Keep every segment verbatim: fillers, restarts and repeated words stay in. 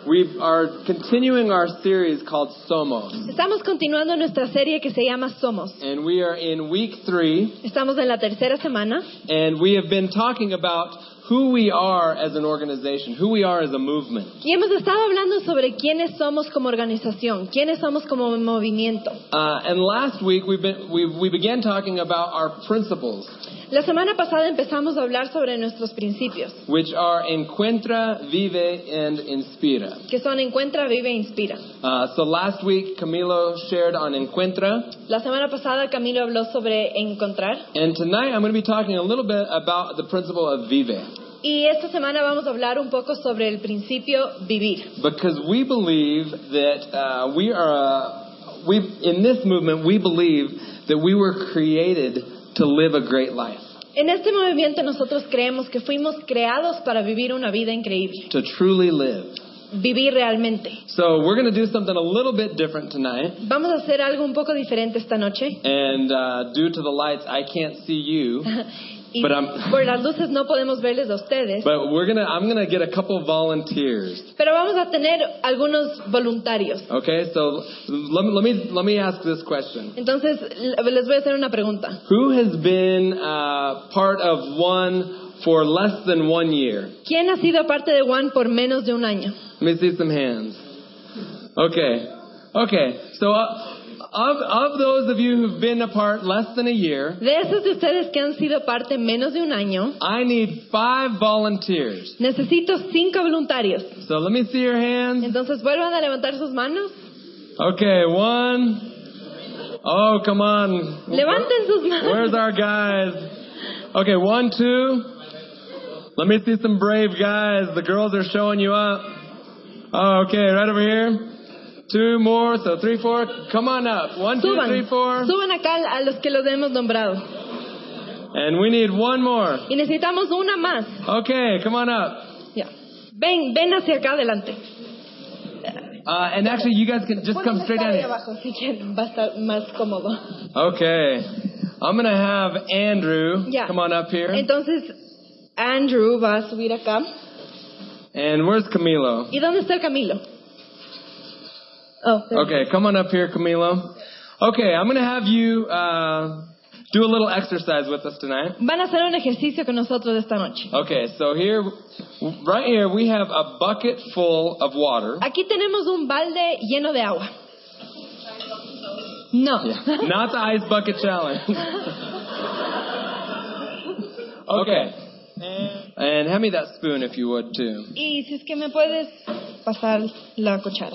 We are continuing our series called Somos. Estamos continuando nuestra serie que se llama Somos. And we are in week three. Estamos en la tercera semana. And we have been talking about who we are as an organization, who we are as a movement. Y hemos estado hablando sobre quiénes somos como organización, quiénes somos como movimiento. Uh, and last week we've been, we, we began talking about our principles. La semana pasada empezamos a hablar sobre nuestros principios, which are Encuentra, Vive, and Inspira. que son Encuentra, Vive e Inspira. Uh, so last week Camilo shared on Encuentra. La semana pasada Camilo habló sobre encontrar. And tonight I'm going to be talking a little bit about the principle of Vive. Y esta semana vamos a hablar un poco sobre el principio vivir. Because we believe that uh, we are, uh, we in this movement we believe that we were created to live a great life. En este movimiento nosotros creemos que fuimos creados para vivir una vida increíble. To truly live. Vivir realmente. So we're going to do something a little bit different tonight. Vamos a hacer algo un poco diferente esta noche. And uh, due to the lights, I can't see you. Y But I'm, por las luces no podemos verles a ustedes. But we're gonna, I'm gonna get a couple volunteers. Pero vamos a tener algunos voluntarios. Okay, so let me let me let me ask this question. Entonces les voy a hacer una pregunta. Who has been uh, part of one for less than one year? ¿Quién ha sido parte de One por menos de un año? Let me see some hands. Okay, okay. So uh, of of those of you who've been apart less than a year, De esos de ustedes que han sido parte menos de un año, I need five volunteers. necesito cinco voluntarios. So let me see your hands. Entonces vuelvan a levantar sus manos. Okay, one. Oh, come on. Levanten sus manos. Where's our guys? Okay, one, two. Let me see some brave guys. The girls are showing you up. Oh, okay, right over here. Two more, so three, four. Come on up. One, two, Suban, three, four. suban acá a los que los hemos nombrado. And we need one more. Y necesitamos una más. Okay, come on up. Ya. Ven, ven hacia acá adelante. Uh, and actually, you guys can just come straight down ahí here. abajo, si quieren, va a estar más cómodo. Okay. I'm going to have Andrew Ya. come on up here. Entonces, Andrew va a subir acá. And where's Camilo? ¿Y dónde está el Camilo? Oh, there. Okay, come on up here, Camilo. Okay, I'm going to have you uh, do a little exercise with us tonight. Van a hacer un ejercicio con nosotros esta noche. Okay, so here, right here, we have a bucket full of water. Aquí tenemos un balde lleno de agua. No. Yeah. Not the ice bucket challenge. Okay. And hand me that spoon if you would, too. Y si es que me puedes pasar la cuchara.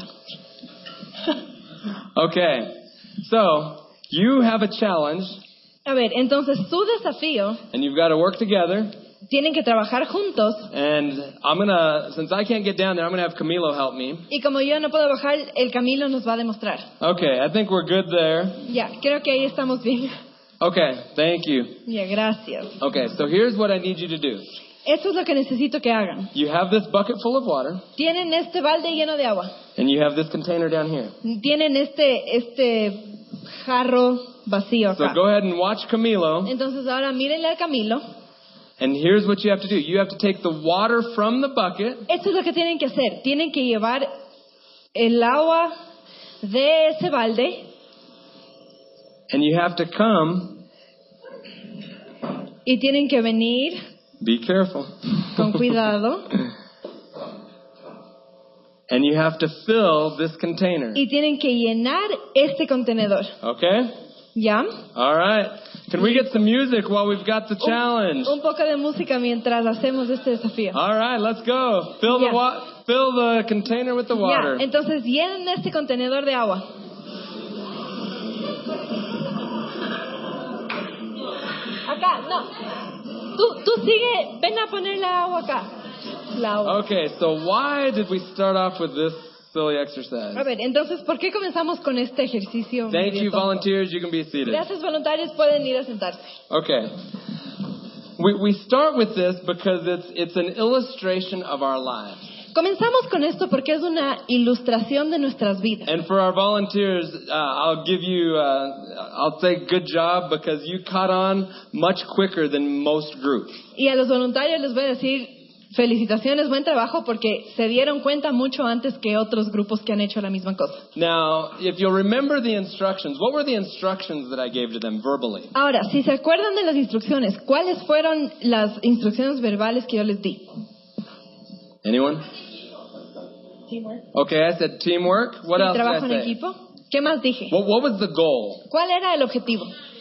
Okay, so you have a challenge, A ver, entonces su desafío, and you've got to work together. tienen que trabajar juntos. And I'm gonna, since I can't get down there, I'm gonna have Camilo help me. Y como yo no puedo bajar, el Camilo nos va a demostrar. Okay, I think we're good there. Ya, creo que ahí estamos bien. Okay, thank you. Ya, gracias. Okay, so here's what I need you to do. Eso es lo que necesito que hagan. You have this bucket full of water, Tienen este balde lleno de agua. and you have this container down here. Tienen este este jarro vacío So acá. go ahead and watch Camilo. Entonces ahora mírenle al Camilo. And here's what you have to do. You have to take the water from the bucket, Esto es lo que tienen que hacer. Tienen que llevar el agua de ese balde and you have to come. y tienen que venir Be careful. con cuidado And you have to fill this container. y tienen que llenar este contenedor. Okay? ¿Ya? All right. Can we get some music while we've got the challenge? Un, un poco de música mientras hacemos este desafío. All right, let's go. Fill the Yeah. wa- fill the container with the water. Ya, entonces llenen este contenedor de agua. Acá, no. Tú, tú sigue, ven a poner la agua acá. La agua. Okay, so why did we start off with this silly exercise? A ver, entonces, ¿por qué comenzamos con este ejercicio? Thank medio you, tonto? volunteers. You can be seated. Gracias, voluntarios, pueden ir a sentarse. Okay. We we start with this because it's it's an illustration of our lives. Comenzamos con esto porque es una ilustración de nuestras vidas. And for our volunteers, uh, I'll give you, uh, I'll say good job because you caught on much quicker than most groups. Y a los voluntarios les voy a decir felicitaciones, buen trabajo, porque se dieron cuenta mucho antes que otros grupos que han hecho la misma cosa. Now, if you'll remember the instructions, what were the instructions that I gave to them verbally? Ahora, si se acuerdan de las instrucciones, ¿cuáles fueron las instrucciones verbales que yo les di? Anyone? Teamwork. Okay, I said teamwork. What Sí, else did trabajo en I say? equipo. ¿Qué más dije? What, what was the goal? ¿Cuál era el objetivo?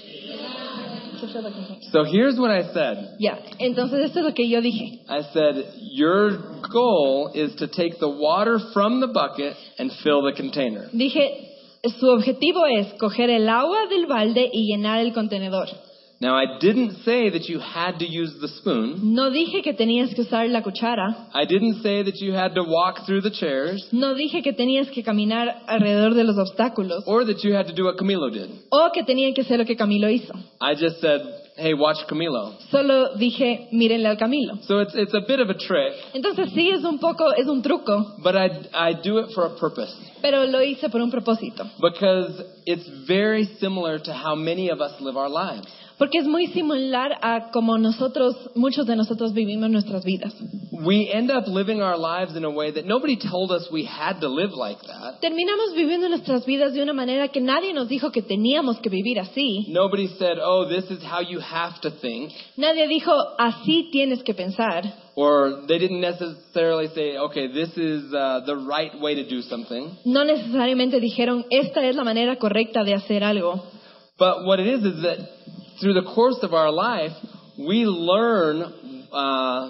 So here's what I said. Ya, entonces esto es lo que yo dije. I said, your goal is to take the water from the bucket and fill the container. Dije, su objetivo es coger el agua del balde y llenar el contenedor. Now, I didn't say that you had to use the spoon. No dije que tenías que usar la cuchara. I didn't say that you had to walk through the chairs. No dije que tenías que caminar alrededor de los obstáculos. Or that you had to do what Camilo did. O que tenían que hacer lo que Camilo hizo. I just said, hey, watch Camilo. Solo dije, mírenle al Camilo. So it's it's a bit of a trick. Entonces sí, es un poco, es un truco. But I, I do it for a purpose. Pero lo hice por un propósito. Because it's very similar to how many of us live our lives. Porque es muy similar a como nosotros, muchos de nosotros vivimos nuestras vidas. We end up living our lives in a way that nobody told us we had to live like that. Terminamos viviendo nuestras vidas de una manera que nadie nos dijo que teníamos que vivir así. Nobody said, oh, this is how you have to think. Nadie dijo, así tienes que pensar. Or they didn't necessarily say, okay, this is uh, the right way to do something. No necesariamente dijeron, esta es la manera correcta de hacer algo. But what it is is that through the course of our life, we learn uh,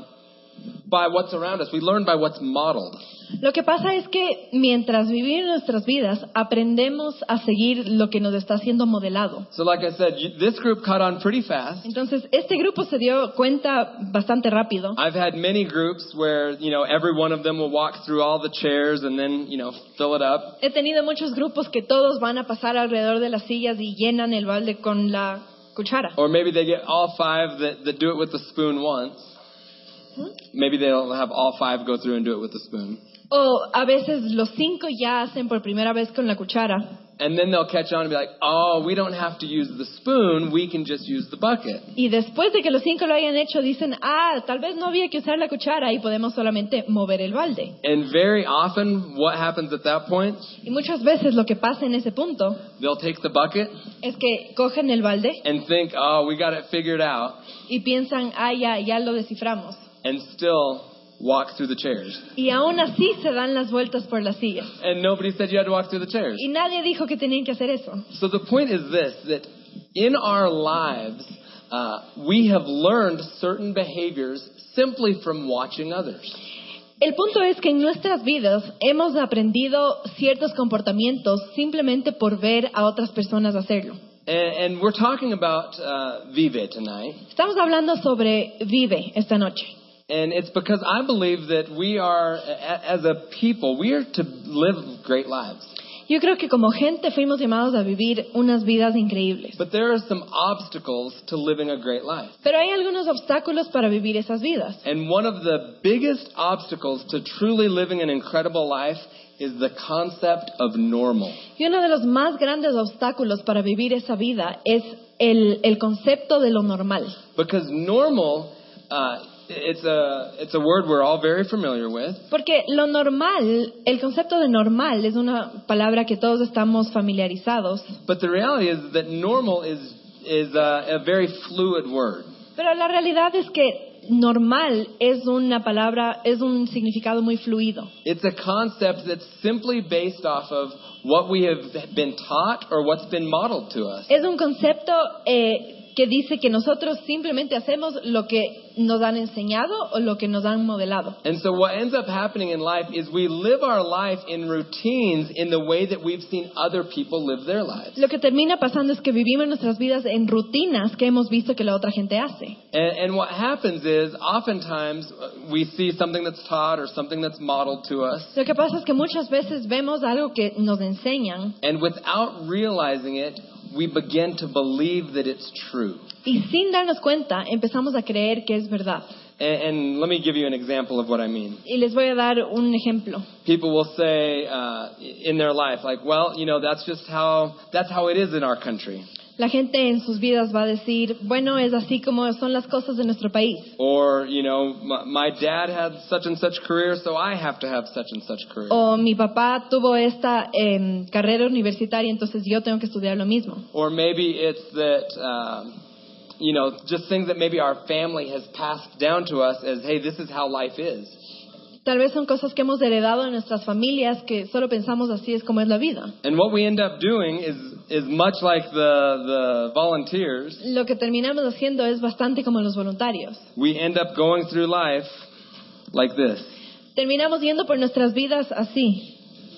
by what's around us. We learn by what's modeled. Lo que pasa es que mientras vivimos nuestras vidas, aprendemos a seguir lo que nos está siendo modelado. So like I said, you, this group caught on pretty fast. Entonces, este grupo se dio cuenta bastante rápido. I've had many groups where, you know, every one of them will walk through all the chairs and then, you know, fill it up. He tenido muchos grupos que todos van a pasar alrededor de las sillas y llenan el balde con la cuchara. Or maybe they get all five that, that do it with the spoon once. ¿Mm? Maybe they'll have all five go through and do it with the spoon. O a veces los cinco ya hacen por primera vez con la cuchara. And then they'll catch on and be like, oh, we don't have to use the spoon, we can just use the bucket. Y después de que los cinco lo hayan hecho, dicen, ah, tal vez no había que usar la cuchara y podemos solamente mover el balde. And very often, what happens at that point? Y muchas veces lo que pasa en ese punto They'll take the bucket es que cogen el balde and think, oh, we got it figured out, y piensan, ah, ya, ya lo desciframos. and still walk through the chairs. Y aún así se dan las vueltas por las sillas. And nobody said you had to walk through the chairs. Y nadie dijo que tenían que hacer eso. So the point is this, that in our lives, uh, we have learned certain behaviors simply from watching others. El punto es que en nuestras vidas hemos aprendido ciertos comportamientos simplemente por ver a otras personas hacerlo. And, and we're talking about uh, Vive tonight. Estamos hablando sobre Vive esta noche. And it's because I believe that we are, a- as a people, we are to live great lives. Yo creo que como gente fuimos llamados a vivir unas vidas increíbles. But there are some obstacles to living a great life. Pero hay algunos obstáculos para vivir esas vidas. And one of the biggest obstacles to truly living an incredible life is the concept of normal. Y uno de los más grandes obstáculos para vivir esa vida es el, el concepto de lo normal. Because normal, uh, it's a it's a word we're all very familiar with. Porque lo normal, el concepto de normal es una palabra que todos estamos familiarizados. But the reality is that normal is is a, a very fluid word. Pero la realidad es que normal es una palabra, es un significado muy fluido. It's a concept that's simply based off of what we have been taught or what's been modeled to us. Es un concepto eh, que dice que nosotros simplemente hacemos lo que nos han enseñado o lo que nos han modelado. And so what ends up happening in life is we live our life in routines in the way that we've seen other people live their lives. Lo que termina pasando es que vivimos nuestras vidas en rutinas que hemos visto que la otra gente hace. And, and what happens is oftentimes uh, we see something that's taught or something that's modeled to us. Lo que pasa es que muchas veces vemos algo que nos enseñan And without realizing it, we begin to believe that it's true. y sin darnos cuenta empezamos a creer que es verdad. And, and let me give you an example of what I mean. Y les voy a dar un ejemplo. People will say uh, in their life, like, well, you know, that's just how that's how it is in our country. La gente en sus vidas va a decir, bueno, es así como son las cosas de nuestro país. Or, you know, my, my dad had such and such career, so I have to have such and such career. O mi papá tuvo esta eh, carrera universitaria, entonces yo tengo que estudiar lo mismo. Or maybe it's that, um, you know, just things that maybe our family has passed down to us as, hey, this is how life is. Tal vez son cosas que hemos heredado de nuestras familias que solo pensamos así es como es la vida. And what we end up doing is is much like the the volunteers. Lo que terminamos haciendo es bastante como los voluntarios. We end up going through life like this. Terminamos yendo por nuestras vidas así,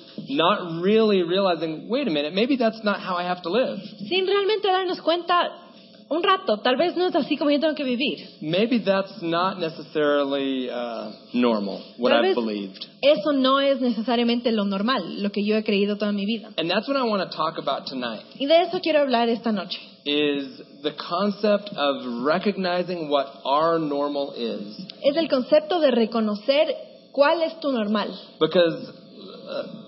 Not really realizing, wait a minute, maybe that's not how I have to live. sin realmente darnos cuenta un rato, tal vez no es así como yo tengo que vivir. Maybe that's not necessarily uh, normal, what Tal I've vez believed. eso no es necesariamente lo normal, lo que yo he creído toda mi vida. And that's what I want to talk about tonight, Y de eso quiero hablar esta noche. is the concept of recognizing what our normal is. Es el concepto de reconocer cuál es tu normal. Because uh,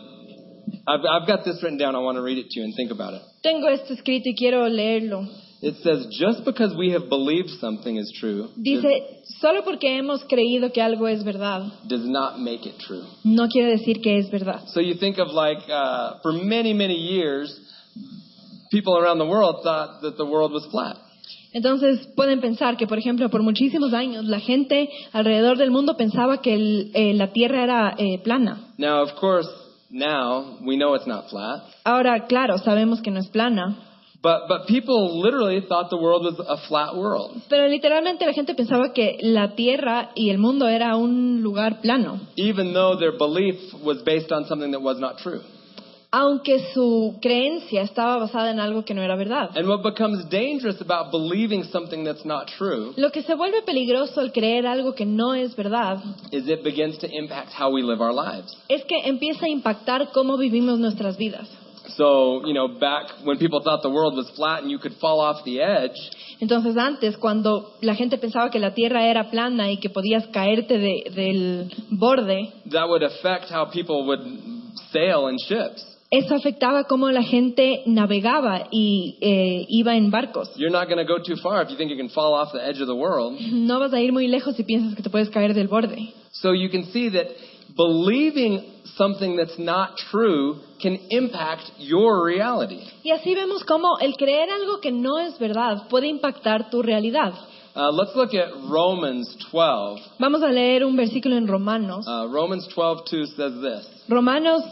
I've, I've got this written down, I want to read it to you and think about it. Tengo esto escrito y quiero leerlo. It says, just because we have believed something is true Dice, solo porque hemos creído que algo es verdad, does not make it true. no quiere decir que es verdad. So you think of like, uh, for many, many years, people around the world thought that the world was flat. Entonces pueden pensar que, por ejemplo, por muchísimos años la gente alrededor del mundo pensaba que el- eh, la Tierra era eh, plana. Now, of course, now we know it's not flat. Ahora, claro, sabemos que no es plana, But, but people literally thought the world was a flat world. pero literalmente la gente pensaba que la Tierra y el mundo era un lugar plano, Even though their belief was based on something that was not true. aunque su creencia estaba basada en algo que no era verdad. And what becomes dangerous about believing something that's not true Lo que se vuelve peligroso al creer algo que no es verdad is it begins to impact how we live our lives. es que empieza a impactar cómo vivimos nuestras vidas. So, you know, back when people thought the world was flat and you could fall off the edge, Entonces antes, cuando la gente pensaba que la Tierra era plana y que podías caerte de- del borde, that would affect how people would sail in ships. eso afectaba cómo la gente navegaba y eh, iba en barcos. You're not going to go too far if you think you can fall off the edge of the world. No vas a ir muy lejos si piensas que te puedes caer del borde. So you can see that believing something that's not true can impact your reality. Y así vemos cómo el creer algo que no es verdad puede impactar tu realidad. Uh, let's look at Romans twelve. Vamos a leer un versículo en Romanos. Uh, Romans twelve two says this. Romanos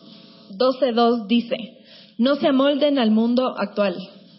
doce dos dice, no se amolden al mundo actual,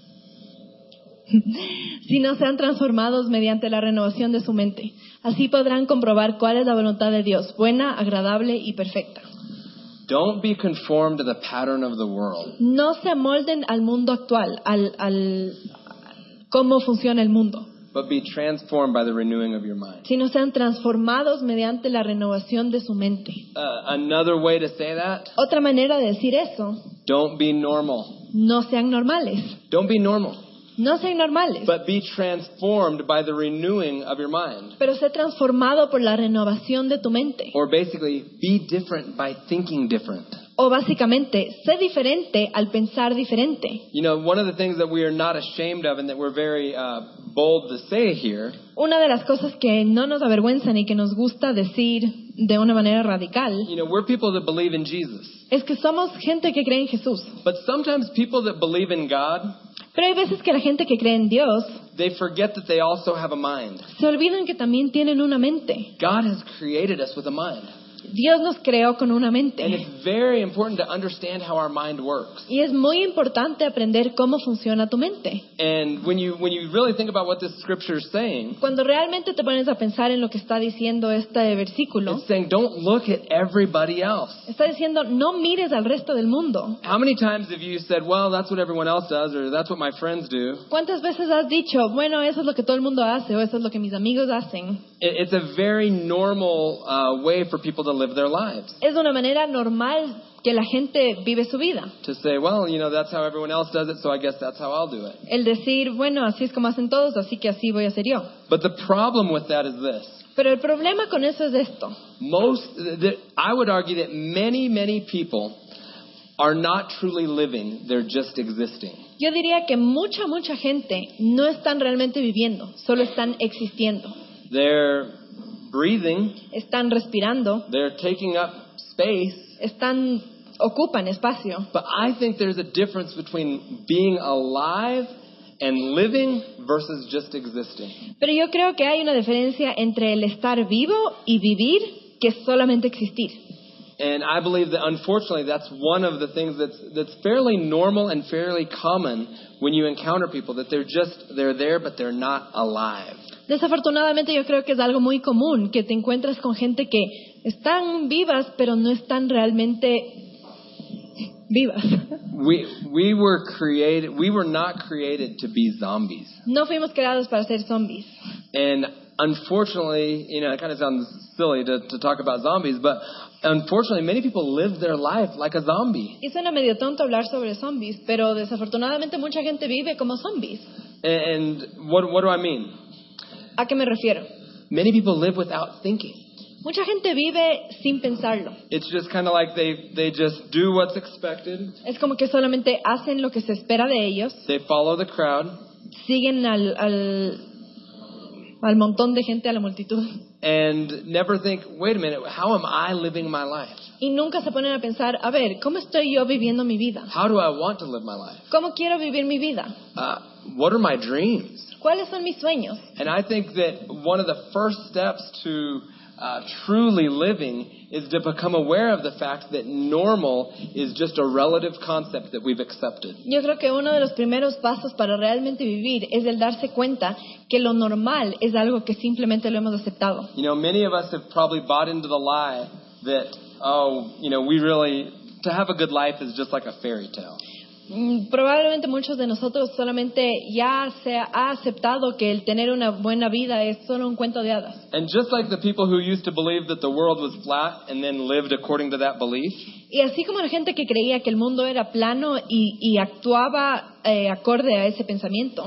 sino sean transformados mediante la renovación de su mente. Así podrán comprobar cuál es la voluntad de Dios, buena, agradable y perfecta. Don't be conformed to the pattern of the world, No se amolden al mundo actual, al, al cómo funciona el mundo, but be transformed by the renewing of your mind. sino sean transformados mediante la renovación de su mente. Uh, another way to say that, Otra manera de decir eso, don't be normal. no sean normales, Don't be normal, no sean normales, but be transformed by the renewing of your mind. pero sé transformado por la renovación de tu mente. Or basically, be different by thinking different. O básicamente, sé diferente al pensar diferente. You know, one of the things that we are not ashamed of and that we're very uh, bold to say here Una de las cosas que no nos avergüenzan y que nos gusta decir de una manera radical you know, we're people that believe in Jesus. es que somos gente que cree en Jesús. But sometimes people that believe in God, Pero hay veces que la gente que cree en Dios they forget that they also have a mind. se olvidan que también tienen una mente. God has created us with a mind. Dios nos creó con una And mente. it's very important to understand how our mind works. Y es muy importante aprender cómo funciona tu mente. And when you when you really think about what this scripture is saying, Cuando realmente te pones a pensar en lo que está diciendo este versículo, it's saying don't look at everybody else. está diciendo no mires al resto del mundo. How many times have you said, well, that's what everyone else does, or that's what my friends do? ¿Cuántas veces has dicho, bueno, eso es lo que todo el mundo hace o eso es lo que mis amigos hacen? It- It's a very normal uh, way for people to live their lives. Es una manera normal que la gente vive su vida. To say, well, you know, that's how everyone else does it, so I guess that's how I'll do it. El decir, bueno, así es como hacen todos, así que así voy a hacer yo. But the problem with that is this. Pero el problema con eso es esto. Most, that I would argue that many, many people are not truly living, they're just existing. Yo diría que mucha, mucha gente no están realmente viviendo, solo están existiendo. They're breathing, Están respirando, they're taking up space, están, ocupan espacio. but I think there's a difference between being alive and living versus just existing. Pero yo creo que hay una diferencia entre el estar vivo y vivir que solamente existir. And I believe that unfortunately that's one of the things that's that's fairly normal and fairly common when you encounter people, that they're just they're there but they're not alive. Desafortunadamente yo creo que es algo muy común que te encuentras con gente que están vivas pero no están realmente vivas. We we were created we were not created to be zombies. No fuimos creados para ser zombies. And unfortunately, you know, it kind of sounds silly to, to talk about zombies, but unfortunately, many people live their life like a zombie. Y suena medio tonto hablar sobre zombies, pero desafortunadamente mucha gente vive como zombies. And, and what what do I mean? ¿A qué me refiero? Many people live without thinking. Mucha gente vive sin pensarlo. It's just kind of like they, they just do what's expected. Es como que solamente hacen lo que se espera de ellos, They follow the crowd. siguen al, al, al montón de gente, a la multitud, And never think, wait a minute, how am I living my life? y nunca se ponen a pensar, a ver, ¿cómo estoy yo viviendo mi vida? How do I want to live my life? ¿Cómo quiero vivir mi vida? Uh, what are my dreams? ¿Cuáles son mis sueños? And I think that one of the first steps to uh, truly living is to become aware of the fact that normal is just a relative concept that we've accepted. Yo creo que uno de los primeros pasos para realmente vivir es el darse cuenta que lo normal es algo que simplemente lo hemos aceptado. You know, many of us have probably bought into the lie that, oh, you know, we really, to have a good life is just like a fairy tale. Mm, Probablemente muchos de nosotros solamente ya se ha aceptado que el tener una buena vida es solo un cuento de hadas. And just like the people who used to believe that the world was flat and then lived according to that belief, Y así como la gente que creía que el mundo era plano y, y actuaba eh, acorde a ese pensamiento,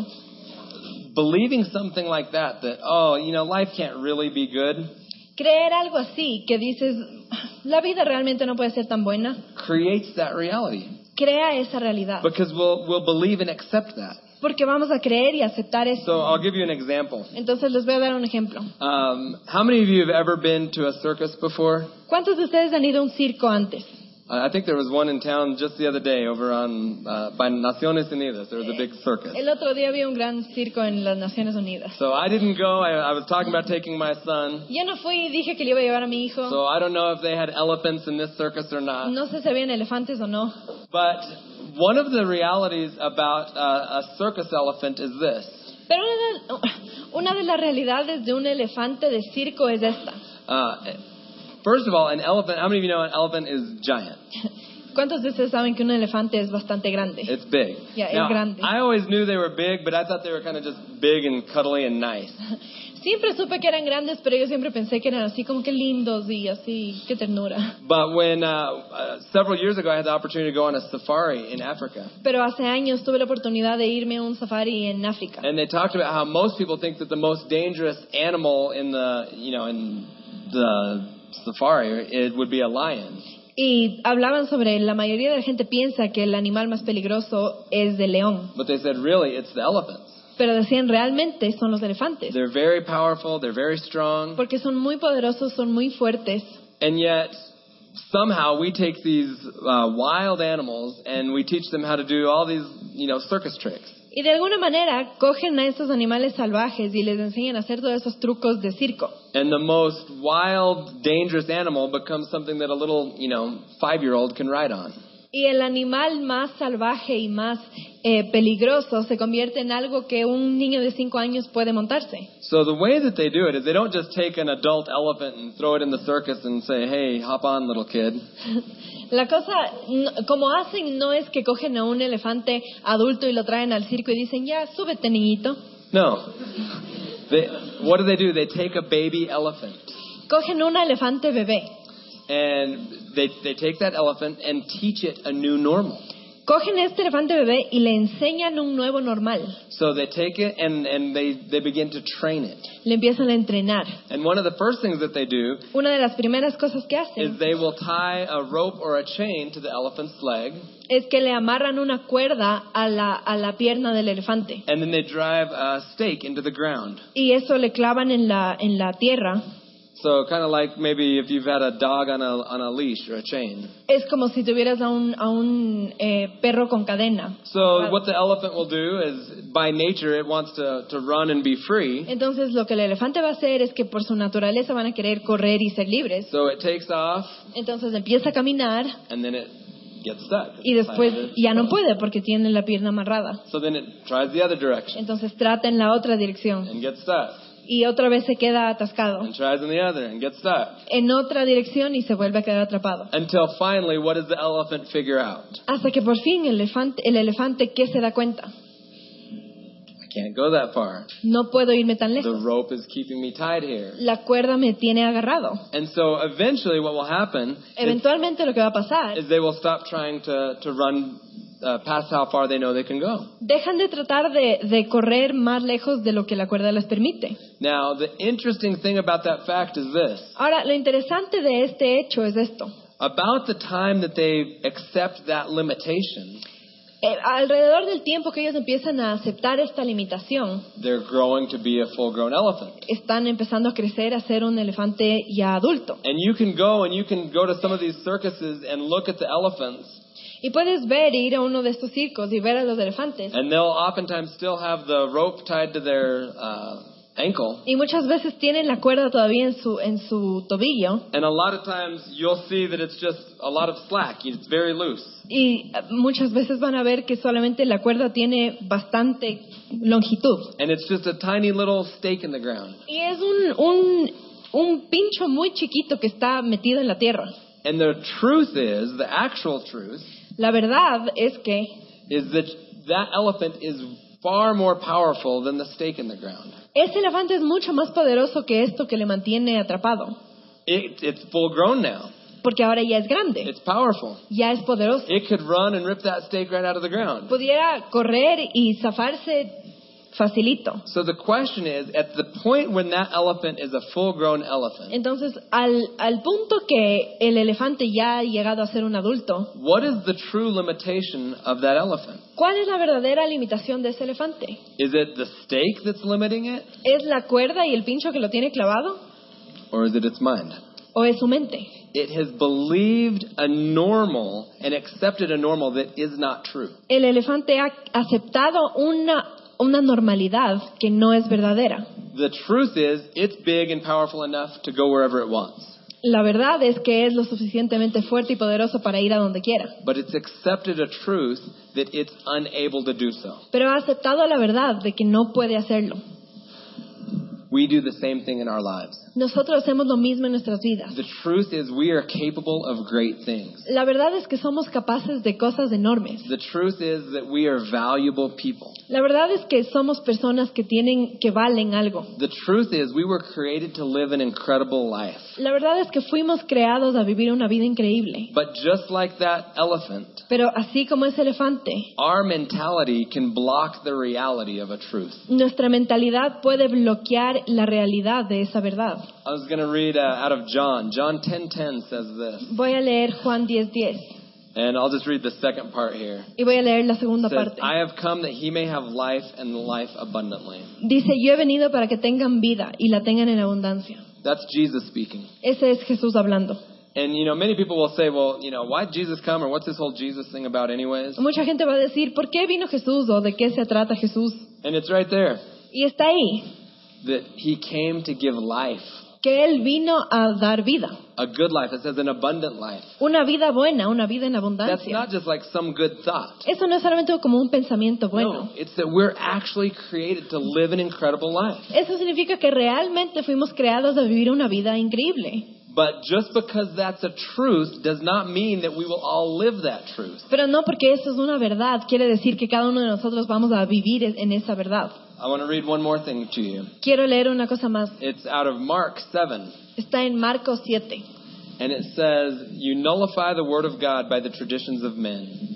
believing something like that, that, oh, you know, life can't really be good, creer algo así, que dices, la vida realmente no puede ser tan buena, creates that reality. crea esa realidad. Because we'll, we'll believe and accept that. Porque vamos a creer y aceptar eso. So I'll give you an example. Entonces les voy a dar un ejemplo. Um, how many of you have ever been to a circus before? ¿Cuántos de ustedes han ido a un circo antes? Uh, I think there was one in town just the other day over on uh, by Naciones Unidas. There was a big circus. El otro día había un gran circo en las Naciones Unidas. So I didn't go. I, I was talking about taking my son. Yo no fui y dije que le iba a llevar a mi hijo. So I don't know if they had elephants in this circus or not. No sé si habían elefantes o no. But one of the realities about uh, a circus elephant is this. Pero una de, una de las realidades de un elefante de circo es esta. Uh, first of all, an elephant, how many of you know an elephant is giant? ¿Cuántos de ustedes saben que un elefante es bastante grande? It's big. Yeah, es Now, grande. I always knew they were big, but I thought they were kind of just big and cuddly and nice. Siempre supe que eran grandes, pero yo siempre pensé que eran así como que lindos y así, qué ternura. But when uh, uh, several years ago I had the opportunity to go on a safari in Africa, Pero hace años tuve la oportunidad de irme a un safari en África. and they talked about how most people think that the most dangerous animal in the, you know, in the safari it would be a lion. Y hablaban sobre, la mayoría de la gente piensa que el animal más peligroso es el león. But they said really it's the elephants. Pero decían, realmente son los elefantes. They're very powerful, they're very strong, Porque son muy poderosos, son muy fuertes. and yet somehow we take these uh, wild animals and we teach them how to do all these, you know, circus tricks. Y de alguna manera cogen a estos animales salvajes y les enseñan a hacer todos esos trucos de circo. And the most wild, dangerous animal becomes something that a little, you know, five-year-old can ride on. Y el animal más salvaje y más eh, peligroso se convierte en algo que un niño de cinco años puede montarse. So the way that they do it is they don't just take an adult elephant and throw it in the circus and say, hey, hop on, little kid. La cosa, no- como hacen, no es que cogen a un elefante adulto y lo traen al circo y dicen, ya, súbete, niñito. No. They, what do they do? They take a baby elephant Cogen un elefante bebé and they, they take that elephant and teach it a new normal. Cogen a este elefante bebé y le enseñan un nuevo normal. So they take it and, and they, they begin to train it. Le empiezan a entrenar. And one of the first things that they do Una de las primeras cosas que is hacen they will tie a rope or a chain to the elephant's leg, es que le amarran una cuerda a la, a la pierna del elefante. and then they drive a stake into the ground. Y eso le clavan en la, en la tierra. So kind of like maybe if you've had a dog on a on a leash or a chain. Es como si tuvieras a un, a un eh, perro con cadena. So what the elephant will do is, by nature, it wants to, to run and be free. Entonces lo que el elefante va a hacer es que por su naturaleza van a querer correr y ser libres. So it takes off, Entonces empieza a caminar and then it gets stuck. y después ya no puede porque tiene la pierna amarrada. So then it tries the other direction Entonces trata en la otra dirección and gets stuck, y otra vez se queda atascado. and tries in the other and gets stuck. En otra dirección y se vuelve a quedar atrapado. Until finally, what does the elephant figure out? Hasta que por fin el elefante, el elefante ¿qué se da cuenta? I can't go that far. No puedo irme tan The lejos. rope is keeping me tied here. La cuerda me tiene agarrado. And so eventually what will happen is, Eventualmente lo que va a pasar, is they will stop trying to, to run uh, past how far they know they can go. dejan de tratar de, de correr más lejos de lo que la cuerda les permite. Now, the interesting thing about that fact is this. Ahora, lo interesante de este hecho es esto. About the time that they accept that limitation, Eh, alrededor del tiempo que ellos empiezan a aceptar esta limitación, they're growing to be a full-grown elephant. están empezando a crecer a ser un elefante ya adulto. And you can go and you can go to some of these circuses and look at the elephants, Y puedes ver, ir a uno de estos circos y ver a los elefantes. and they'll oftentimes still have the rope tied to their uh, ankle. Y muchas veces tienen la cuerda todavía en su, en su tobillo. And a lot of times you'll see that it's just a lot of slack. It's very loose. Y eh, muchas veces van a ver que solamente la cuerda tiene bastante longitud. And it's just a tiny little stake in the ground. Y es un, un, un pincho muy chiquito que está metido en la tierra. And the truth is, the actual truth, La verdad es que is that that elephant is far more powerful than the stake in the ground. ese elefante es mucho más poderoso que esto que le mantiene atrapado. It, it's full grown now. Porque ahora ya es grande, It's powerful. ya es poderoso. It could run and rip that stake right out of the ground. Pudiera correr y zafarse facilito. So the question is, at the point when that elephant is a full-grown elephant, Entonces, al, al punto que el elefante ya ha llegado a ser un adulto, what is the true limitation of that elephant? ¿cuál es la verdadera limitación de ese elefante? Is it the stake that's limiting it, ¿Es la cuerda y el pincho que lo tiene clavado? or is it its mind? ¿O es su mente? It has believed a normal and accepted a normal that is not true. El elefante ha aceptado una, una normalidad que no es verdadera. The truth is, it's big and powerful enough to go wherever it wants. La verdad es que es lo suficientemente fuerte y poderoso para ir a donde quiera. But it's accepted a truth that it's unable to do so. Pero ha aceptado la verdad de que no puede hacerlo. We do the same thing in our lives. Nosotros hacemos lo mismo en nuestras vidas. The truth is we are capable of great things. La verdad es que somos capaces de cosas enormes. The truth is that we are valuable people. La verdad es que somos personas que tienen, que valen algo. The truth is we were created to live an incredible life. La verdad es que fuimos creados a vivir una vida increíble. But just like that elephant, Pero así como ese elefante, our mentality can block the reality of a truth. nuestra mentalidad puede bloquear la realidad de esa verdad. I was going to read uh, out of John. John ten ten says this. Voy a leer Juan diez diez And I'll just read the second part here. y voy a leer la segunda It says, parte. I have come that he may have life and life abundantly. Dice, yo he venido para que tengan vida y la tengan en abundancia. That's Jesus speaking. Ese es Jesús hablando. And, you know, many people will say, well, you know, why did Jesus come, or what's this whole Jesus thing about anyways? Mucha gente va a decir, ¿por qué vino Jesús o de qué se trata Jesús? And it's right there, Y está ahí, that he came to give life, que Él vino a dar vida. a good life. It says an abundant life. Una vida buena, una vida en That's abundancia. not just like some good thought. Eso no es solamente como un pensamiento No, bueno. it's that we're actually created to live an incredible life. Eso significa que realmente fuimos creados a vivir una vida increíble. But just because that's a truth does not mean that we will all live that truth. Pero no porque eso es una verdad, quiere decir que cada uno de nosotros vamos a vivir en esa verdad. I want to read one more thing to you. Quiero leer una cosa más. It's out of Mark seven. Está en Marcos siete. And it says, you nullify the word of God by the traditions of men.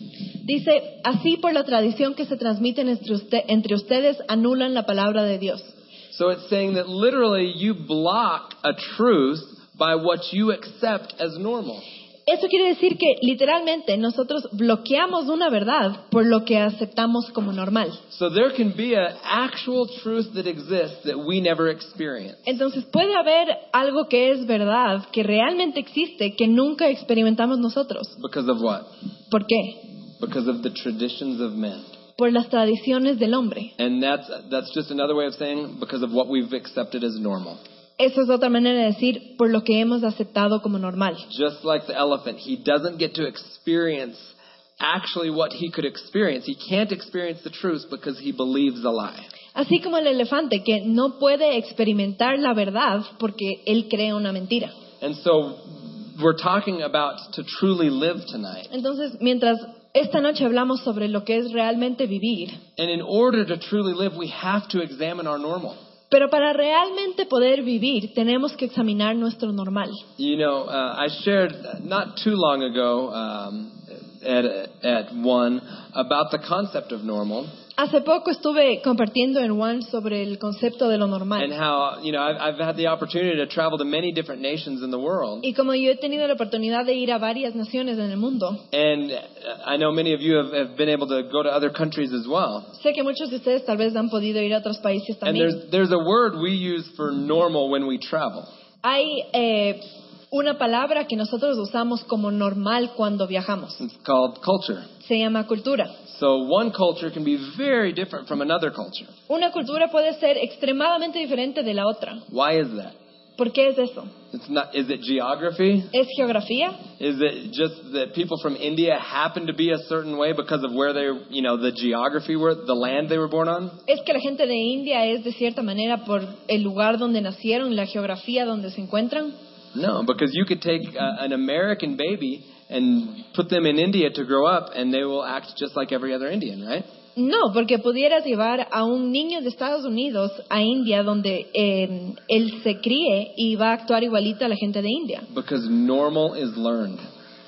Dice, así por la tradición que se transmite entre, usted, entre ustedes, anulan la palabra de Dios. So it's saying that literally you block a truth by what you accept as normal. Eso quiere decir que literalmente nosotros bloqueamos una verdad por lo que aceptamos como normal. So there can be an actual truth that exists that we never experience. Entonces puede haber algo que es verdad, que realmente existe, que nunca experimentamos nosotros. Because of what? ¿Por qué? Because of the traditions of men. Por las tradiciones del hombre. And that's that's just another way of saying because of what we've accepted as normal. Eso es otra manera de decir por lo que hemos aceptado como normal. Just like the elephant, he doesn't get to experience actually what he could experience. He can't experience the truth because he believes a lie. Así como el elefante que no puede experimentar la verdad porque él cree una mentira. And so we're talking about to truly live tonight. Entonces, mientras esta noche hablamos sobre lo que es realmente vivir. And in order to truly live, we have to examine our normal. Pero para realmente poder vivir, tenemos que examinar nuestro normal. You know, uh, I shared not too long ago um, at, at one about the concept of normal. Hace poco estuve compartiendo en One sobre el concepto de lo normal. And how, you know, I've, I've had the opportunity to travel to many different nations in the world. Y como yo he tenido la oportunidad de ir a varias naciones en el mundo. And I know many of you have, have been able to go to other countries as well. Sé que muchos de ustedes tal vez han podido ir a otros países And también. there's, there's a word we use for normal when we travel. Hay eh, una palabra que nosotros usamos como normal cuando viajamos. It's called culture. Se llama cultura. So one culture can be very different from another culture. Una cultura puede ser extremadamente diferente de la otra. Why is that? ¿Por qué es eso? It's not. Is it geography? ¿Es geografía? Is it just that people from India happen to be a certain way because of where they, you know, the geography were, the land they were born on? ¿Es que la gente de India es de cierta manera por el lugar donde nacieron, la geografía donde se encuentran? No, because you could take uh, an American baby and put them in India to grow up, and they will act just like every other Indian, right? No, porque pudieras llevar a un niño de Estados Unidos a India donde eh, él se críe y va a actuar igualito a la gente de India. Because normal is learned.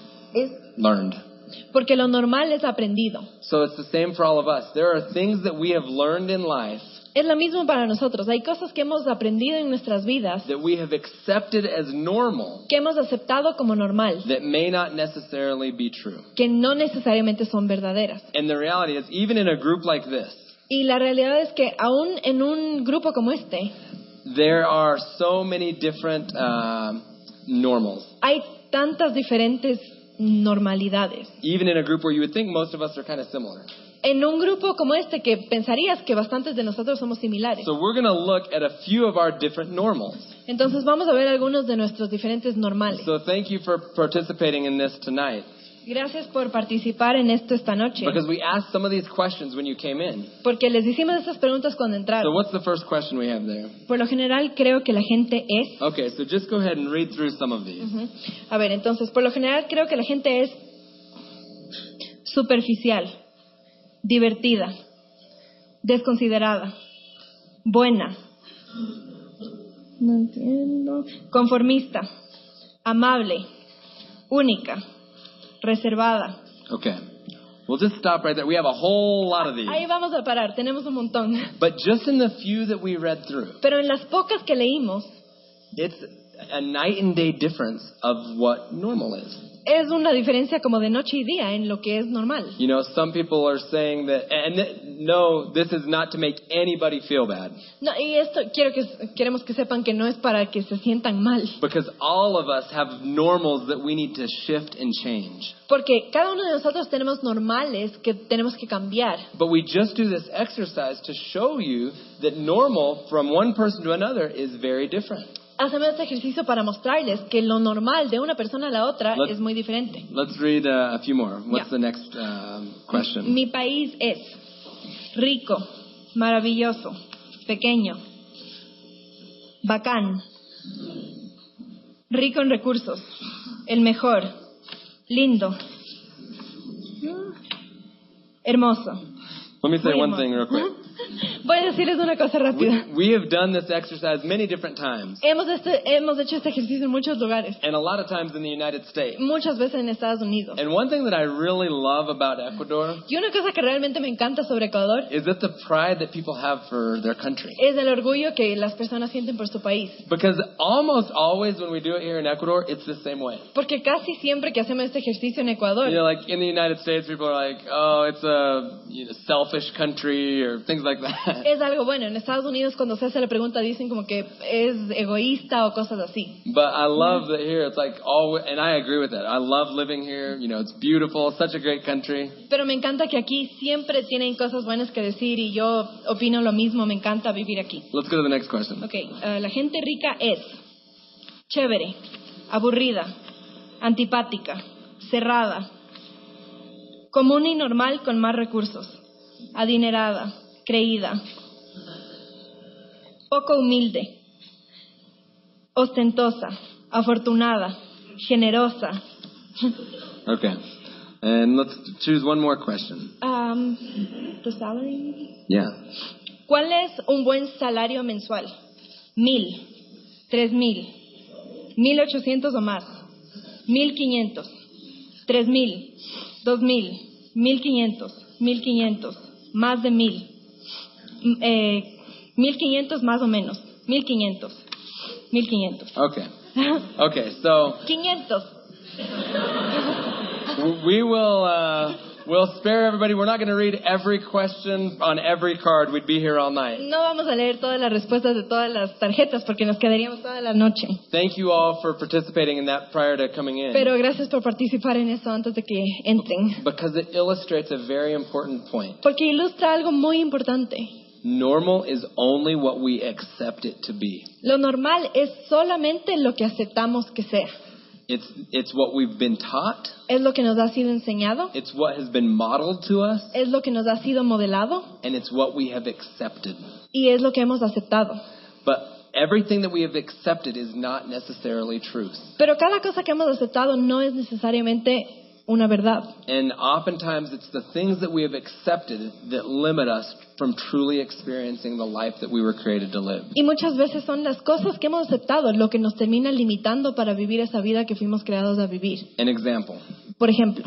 Es Learned. porque lo normal es aprendido. So it's the same for all of us. There are things that we have learned in life Es lo mismo para nosotros. Hay cosas que hemos aprendido en nuestras vidas that we have accepted as normal que hemos aceptado como normal, that may not necessarily be true. que no necesariamente son verdaderas. And the reality is, even in a group like this, Y la realidad es que aún en un grupo como este, there are so many different uh, normals. hay tantas diferentes normalidades. Even in a group where you would think most of us are kind of similar. En un grupo como este que pensarías que bastantes de nosotros somos similares. So we're going to look at a few of our different normals. Entonces vamos a ver algunos de nuestros diferentes normales. So thank you for participating in this tonight. Gracias por participar en esto esta noche. Because we asked some of these questions when you came in. Porque les hicimos estas preguntas cuando So entraron. what's the first question we have there? Por lo general creo que la gente es... Okay, so just go ahead and read through some of these. Ujú. A ver, entonces, por lo general creo que la gente es superficial, divertida, desconsiderada, buena, no entiendo, conformista, amable, única, reservada. Okay. We'll just stop right there. We have a whole lot of these. Ahí vamos a parar, tenemos un montón. But just in the few that we read through, Pero en las pocas que leímos, it's a night and day difference of what normal is. es una diferencia como de noche y día en lo que es normal. You know, some people are saying that, and th- no, this is not to make anybody feel bad. No, y esto quiero que queremos que sepan que no es para que se sientan mal, Because all of us have normals that we need to shift and change. porque cada uno de nosotros tenemos normales que tenemos que cambiar. But we just do this exercise to show you that normal from one person to another is very different. Hacemos este ejercicio para mostrarles que lo normal de una persona a la otra Let's- es muy diferente. Let's read uh, a few more. What's Yeah. the next um, question? Mi país es rico, maravilloso, pequeño, bacán, rico en recursos, el mejor, lindo, hermoso. Let me say Muy one hermoso. thing real quick. Ujú. Voy a decirles una cosa rápida. We, we have done this exercise many different times. Hemos, este, hemos hecho este ejercicio en muchos lugares. And a lot of times in the United States. Muchas veces en Estados Unidos. And one thing that I really love about Ecuador. Y una cosa que realmente me encanta sobre Ecuador. Is that the pride that people have for their country. Es el orgullo que las personas sienten por su país. Because almost always when we do it here in Ecuador, it's the same way. Porque casi siempre que hacemos este ejercicio en Ecuador. You know, like in the United States, people are like, oh, it's a you know, selfish country or things like that. Es algo bueno. En Estados Unidos cuando se hace la pregunta dicen como que es egoísta o cosas así. But I love that here it's like all, and I agree with that. I love living here. You know, it's beautiful, such a great country. Pero me encanta que aquí siempre tienen cosas buenas que decir y yo opino lo mismo. Me encanta vivir aquí. Let's go to the next question. Okay, uh, la gente rica es chévere, aburrida, antipática, cerrada, común y normal con más recursos, adinerada, creída, poco humilde, ostentosa, afortunada, generosa. Okay. And let's choose one more question. Um, the salary? Yeah. ¿Cuál es un buen salario mensual? Mil, tres mil, mil ochocientos o más, mil quinientos, tres mil, dos mil, mil quinientos, mil quinientos, más de mil, eh, mil quinientos más o menos, mil quinientos, mil quinientos. Okay. Okay, so quinientos. we will uh, we'll spare everybody. We're not going to read every question on every card. We'd be here all night. No vamos a leer todas las respuestas de todas las tarjetas porque nos quedaríamos toda la noche. Thank you all for participating in that prior to coming in. Pero gracias por participar en eso antes de que entren. Because it illustrates a very important point. Porque ilustra algo muy importante. Normal is only what we accept it to be. Lo normal es solamente lo que aceptamos que sea. It's it's what we've been taught. Es lo que nos ha sido enseñado. It's what has been modeled to us. Es lo que nos ha sido modelado. And it's what we have accepted. Y es lo que hemos aceptado. But everything that we have accepted is not necessarily truth. Pero cada cosa que hemos aceptado no es necesariamente una verdad. And oftentimes it's the things that we have accepted that limit us from truly experiencing the life that we were created to live. Y muchas veces son las cosas que hemos aceptado lo que nos termina limitando para vivir esa vida que fuimos creados a vivir. An example. Por ejemplo,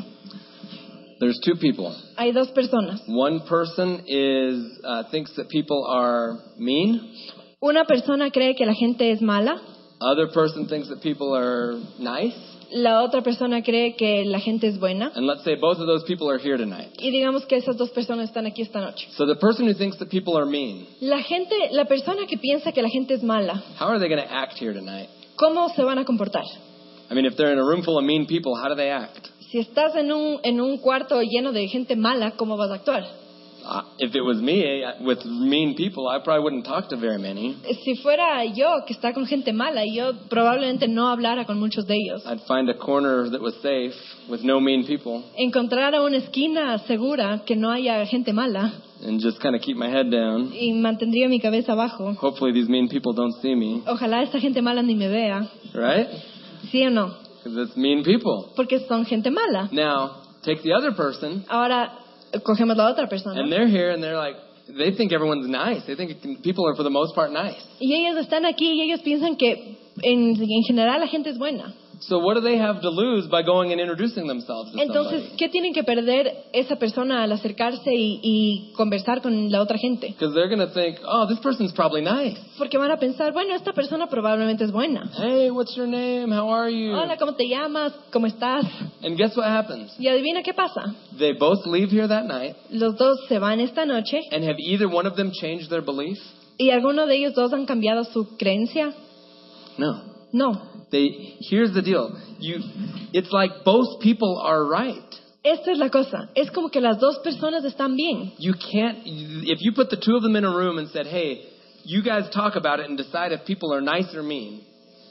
there's two people. Hay dos personas. One person is uh, thinks that people are mean. Una persona cree que la gente es mala. Other person thinks that people are nice. La otra persona cree que la gente es buena. And let's say both of those people are here tonight. Y digamos que esas dos personas están aquí esta noche. So the person who thinks that people are mean. La gente, la persona que piensa que la gente es mala. How are they going to act here tonight? ¿Cómo se van a comportar? I mean, if they're in a room full of mean people, how do they act? Si estás en un en un cuarto lleno de gente mala, ¿cómo vas a actuar? Uh, if it was me with mean people, I probably wouldn't talk to very many. Si fuera yo que está con gente mala, yo probablemente no hablara con muchos de ellos. I'd find a corner that was safe with no mean people. Encontrar a una esquina segura que no haya gente mala. And just kind of keep my head down. Y mantendría mi cabeza abajo. Hopefully these mean people don't see me. Ojalá esta gente mala ni me vea. Right? ¿Sí o no? Because it's mean people. Porque son gente mala. Now, take the other person. Ahora cogemos la otra persona. And they're here and they're like, they think everyone's nice. They think people are for the most part nice. Y ellos están aquí y ellos piensan que en, en general la gente es buena. So what do they have to lose by going and introducing themselves to Entonces, somebody? ¿qué tienen que perder esa persona al acercarse y, y conversar con la otra gente? Because they're going to think, oh, this person's probably nice. Porque van a pensar, bueno, esta persona probablemente es buena. Hey, what's your name? How are you? Hola, ¿cómo te llamas? ¿Cómo estás? And guess what happens? Y adivina qué pasa. They both leave here that night. Los dos se van esta noche. And have either one of them changed their belief? ¿Y alguno de ellos dos han cambiado su creencia? No. No. They, here's the deal. You, it's like both people are right. Esta es la cosa. Es como que las dos personas están bien. You can't, if you put the two of them in a room and said, hey, you guys talk about it and decide if people are nice or mean.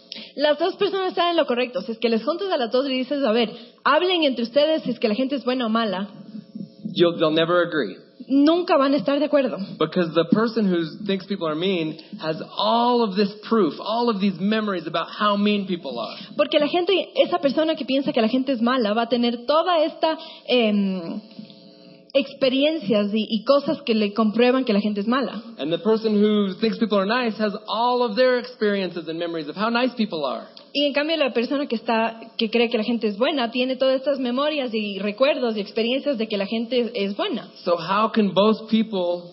Las dos personas están en lo correcto. Si es que les juntas a las dos y dices, a ver, hablen entre ustedes si es que la gente es buena o mala. You'll, they'll never agree. Nunca van a estar de acuerdo. Because the person who thinks people are mean has all of this proof, all of these memories about how mean people are. Porque la gente, esa persona que piensa que la gente es mala, va a tener toda esta, eh, experiencias y, y cosas que le comprueban que la gente es mala. And the person who thinks people are nice has all of their experiences and memories of how nice people are. Y en cambio la persona que está que cree que la gente es buena tiene todas estas memorias y recuerdos y experiencias de que la gente es, es buena. So how can both people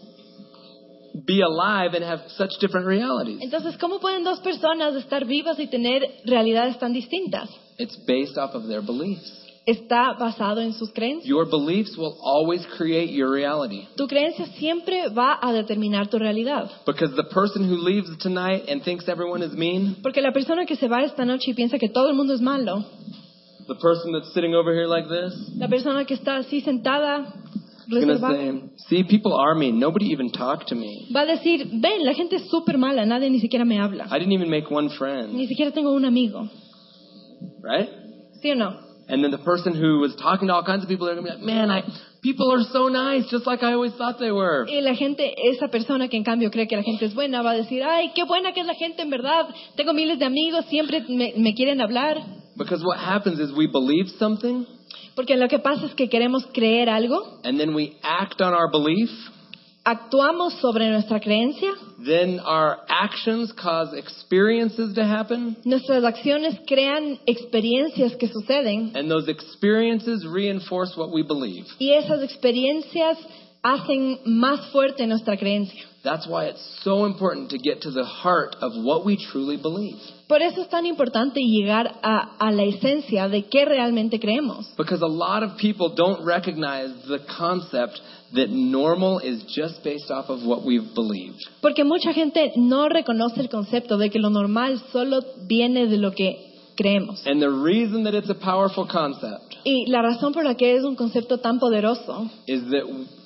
be alive and have such different realities? Entonces, ¿cómo pueden dos personas estar vivas y tener realidades tan distintas? It's based off of their beliefs. Está basado en sus creencias. Your beliefs will always create your reality. Tu creencia siempre va a determinar tu realidad. Because the person who leaves tonight and thinks everyone is mean, Porque la persona que se va esta noche y piensa que todo el mundo es malo, the person that's sitting over here like this, la persona que está así sentada, is going to reservada, say, see, people are mean. Nobody even talked to me. va a decir, ven, la gente es súper mala, nadie ni siquiera me habla. I didn't even make one friend. Ni siquiera tengo un amigo. Right? ¿Sí o no? And then the person who was talking to all kinds of people, they're going to be like, man, I, people are so nice, just like I always thought they were. Y la gente, esa persona que en cambio cree que la gente es buena, va a decir, ay, qué buena que es la gente en verdad. Tengo miles de amigos, siempre me, me quieren hablar. Because what happens is we believe something, Porque lo que pasa es que queremos creer algo, and then we act on our belief. actuamos sobre nuestra creencia, Then our actions cause experiences to happen, nuestras acciones crean experiencias que suceden and those experiences reinforce what we believe. y esas experiencias hacen más fuerte nuestra creencia. That's why it's so important to get to the heart of what we truly believe. Por eso es tan importante llegar a, a la esencia de qué realmente creemos. Because a lot of people don't recognize the concept that normal is just based off of what we've believed. Porque mucha gente no reconoce el concepto de que lo normal solo viene de lo que creemos. And the reason that it's a powerful concept Y la razón por la que es un concepto tan poderoso is that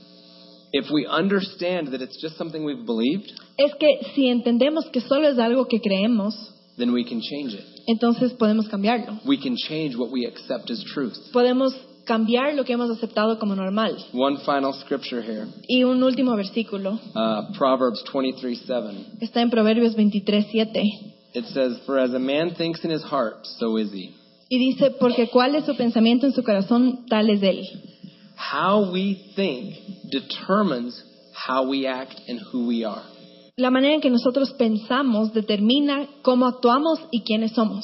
if we understand that it's just something we've believed, es que si entendemos que solo es algo que creemos, then we can change it. entonces podemos cambiarlo. We can change what we accept as truth. Podemos cambiar lo que hemos aceptado como normal. One final scripture here, Y un último versículo uh, Proverbs twenty-three seven. está en Proverbios veintitrés siete It says, "For as a man thinks in his heart, so is he." y dice, porque cuál es su pensamiento en su corazón, tal es él. How we think determines how we act and who we are. La manera en que nosotros pensamos determina cómo actuamos y quiénes somos.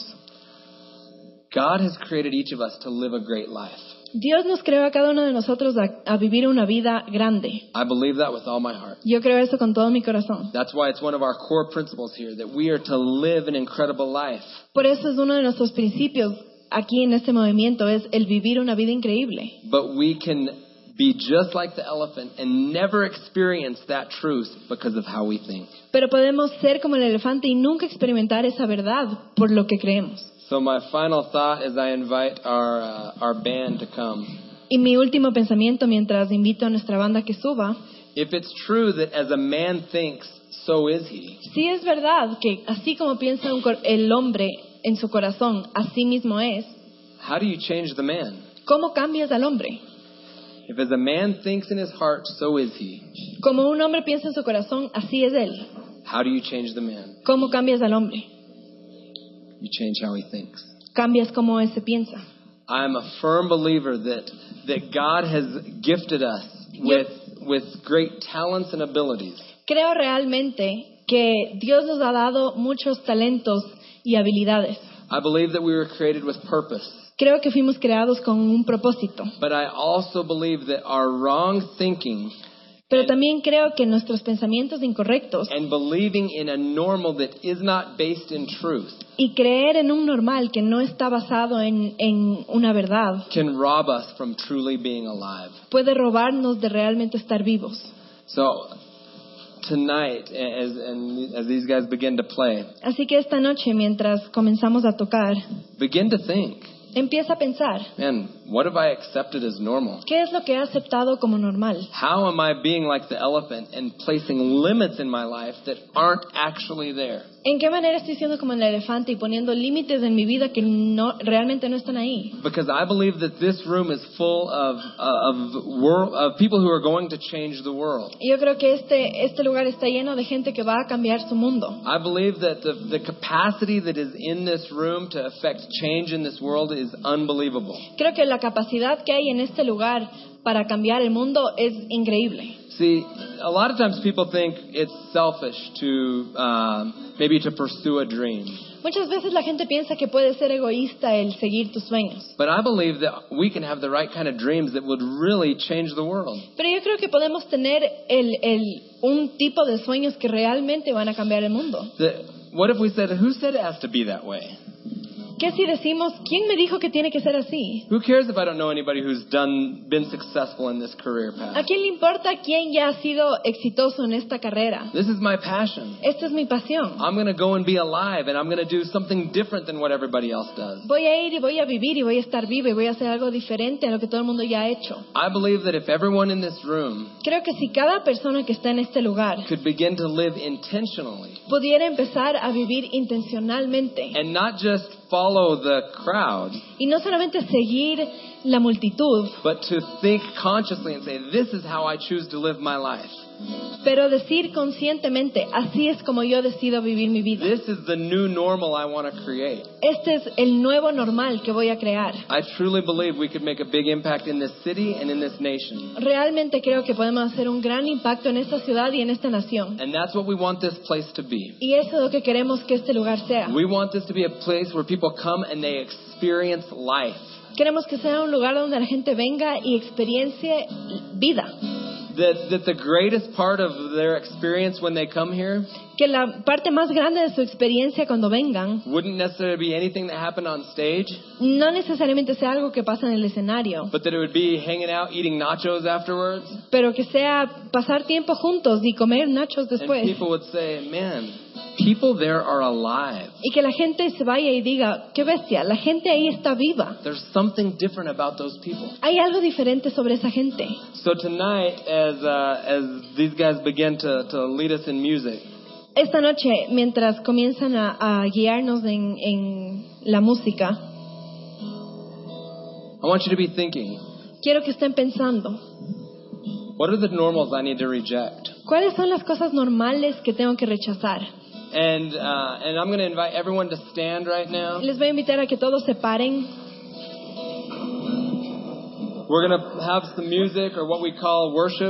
God has created each of us to live a great life. Dios nos creó a cada uno de nosotros a, a vivir una vida grande. I believe that with all my heart. Yo creo eso con todo mi corazón. That's why it's one of our core principles here, that we are to live an incredible life. Por eso es uno de nuestros principios aquí en este movimiento, es el vivir una vida increíble. But we can be just like the elephant and never experience that truth because of how we think. Pero podemos ser como el elefante y nunca experimentar esa verdad por lo que creemos. So my final thought is I invite our uh, our band to come. Y mi último pensamiento mientras invito a nuestra banda que suba, If it's true that as a man thinks, so is he, si es verdad que así como piensa un cor- el hombre en su corazón, así mismo es, how do you change the man? ¿cómo cambias al hombre? If as a man thinks in his heart, so is he, Como un hombre piensa en su corazón, así es él. how do you change the man? ¿Cómo cambias al hombre? You change how he thinks. Cambias cómo ese piensa. I'm a firm believer that that God has gifted us with with great talents and abilities. Creo realmente que Dios nos ha dado muchos talentos y habilidades. I believe that we were created with purpose. Creo que fuimos creados con un propósito. But I also believe that our wrong thinking Pero también creo que nuestros pensamientos incorrectos and believing in a normal that is not based in truth y creer en un normal que no está basado en, en una verdad can rob us from truly being alive. puede robarnos de realmente estar vivos. So tonight, as and as these guys begin to play, Así que esta noche, mientras comenzamos a tocar, begin to think, empieza a pensar, man, what have I accepted as normal? ¿qué es lo que he aceptado como normal? How am I being like the elephant and placing limits in my life that aren't actually there? ¿En qué manera estoy siendo como el elefante y poniendo límites en mi vida que no realmente no están ahí? Because I believe that this room is full of uh, of world of people who are going to change the world. Y yo creo que este, este lugar está lleno de gente que va a cambiar su mundo. I believe that the, the capacity that is in this room to affect change in this world is is unbelievable. Creo que la capacidad que hay en este lugar para cambiar el mundo es increíble. See, a lot of times people think it's selfish to um, maybe to pursue a dream. Muchas veces la gente piensa que puede ser egoísta el seguir tus sueños. But I believe that we can have the right kind of dreams that would really change the world. Pero yo creo que podemos tener el, el, un tipo de sueños que realmente van a cambiar el mundo. The, what if we said, who said it has to be that way? ¿Qué si decimos, quién me dijo que tiene que ser así? Who cares if I don't know anybody who's done been successful in this career ¿A path? quién le importa quién ya ha sido exitoso en esta carrera? This is my passion. Esta es mi pasión. I'm going to go and be alive, and I'm going to do something different than what everybody else does. Voy a ir y voy a vivir y voy a estar viva y voy a hacer algo diferente a lo que todo el mundo ya ha hecho. I believe that if everyone in this room Creo que si cada persona que está en este lugar could begin to live intentionally pudiera empezar a vivir intencionalmente and not just follow the crowd, y no solamente seguir la multitud, but to think consciously and say, this is how I choose to live my life. pero decir conscientemente, así es como yo decido vivir mi vida. This is the new normal I want to create. Este es el nuevo normal que voy a crear. I truly believe we could make a big impact in this city and in this nation. Realmente creo que podemos hacer un gran impacto en esta ciudad y en esta nación. And that's what we want this place to be. Y eso es lo que queremos que este lugar sea. We want this to be a place where people come and they experience life. Queremos que sea un lugar donde la gente venga y experiencie vida. That, that the greatest part of their experience when they come here Que la parte más grande de su experiencia cuando vengan wouldn't necessarily be anything that happened on stage, no necesariamente sea algo que pasa en el escenario, but that it would be hanging out, eating nachos afterwards. pero que sea pasar tiempo juntos y comer nachos And después. people would say, man, people there are alive. Y que la gente se vaya y diga, qué bestia, la gente ahí está viva. There's something different about those people. Hay algo diferente sobre esa gente. So tonight, as uh, as these guys begin to, to lead us in music, Esta noche, mientras comienzan a, a guiarnos en, en la música, I want you to be thinking, quiero que estén pensando, what are the normals I need to reject? ¿cuáles son las cosas normales que tengo que rechazar? And uh, and I'm going to invite everyone to stand right now. Les voy a invitar a que todos se paren. We're going to have some music, or what we call worship.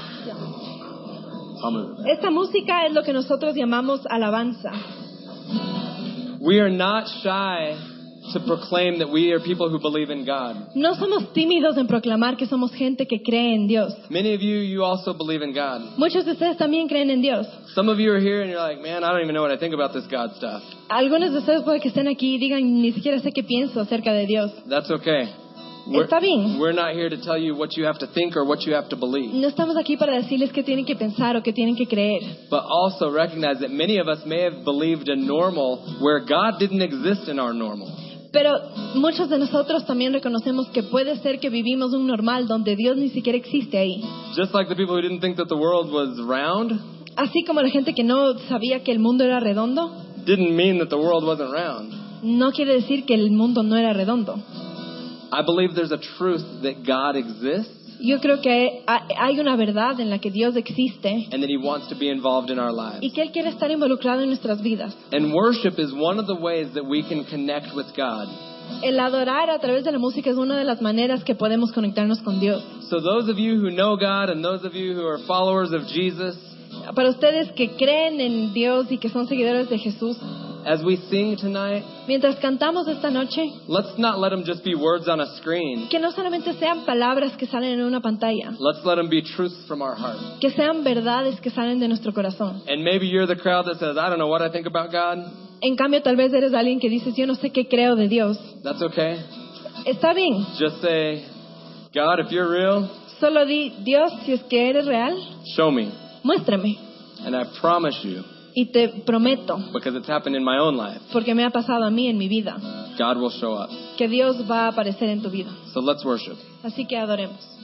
Esta música es lo que nosotros llamamos alabanza. We are not shy to proclaim that we are people who believe in God. No somos tímidos en proclamar que somos gente que cree en Dios. Many of you, you also believe in God. Muchos de ustedes también creen en Dios. Some of you are here and you're like, man, I don't even know what I think about this God stuff. Algunos de ustedes puede que estén aquí y digan, ni siquiera sé qué pienso acerca de Dios. That's okay. Está bien. We're not here to tell you what you have to think or what you have to believe. No estamos aquí para decirles qué tienen que pensar o qué tienen que creer. But also recognize that many of us may have believed a normal where God didn't exist in our normal. Pero muchos de nosotros también reconocemos que puede ser que vivimos un normal donde Dios ni siquiera existe ahí. Just like the people who didn't think that the world was round Así como la gente que no sabía que el mundo era redondo, didn't mean that the world wasn't round. no quiere decir que el mundo no era redondo. I believe there's a truth that God exists Yo creo que hay una verdad en la que Dios existe and that He wants to be involved in our lives. y que Él quiere estar involucrado en nuestras vidas. And worship is one of the ways that we can connect with God. El adorar a través de la música es una de las maneras que podemos conectarnos con Dios. So those of you who know God and those of you who are followers of Jesus, Para ustedes que creen en Dios y que son seguidores de Jesús, as we sing tonight, mientras cantamos esta noche, let's not let them just be words on a screen. que no solamente sean palabras que salen en una pantalla, Let's let them be truths from our heart. que sean verdades que salen de nuestro corazón. And maybe you're the crowd that says, I don't know what I think about God. En cambio, tal vez eres alguien que dices, yo no sé qué creo de Dios. That's okay. Está bien. Just say, God, if you're real, Solo di, Dios, si es que eres real, show me. muéstrame. And I promise you, Y te prometo, because it's happened in my own life, porque me ha pasado a mí en mi vida, God will show up. que Dios va a aparecer en tu vida. So let's worship. Así que adoremos.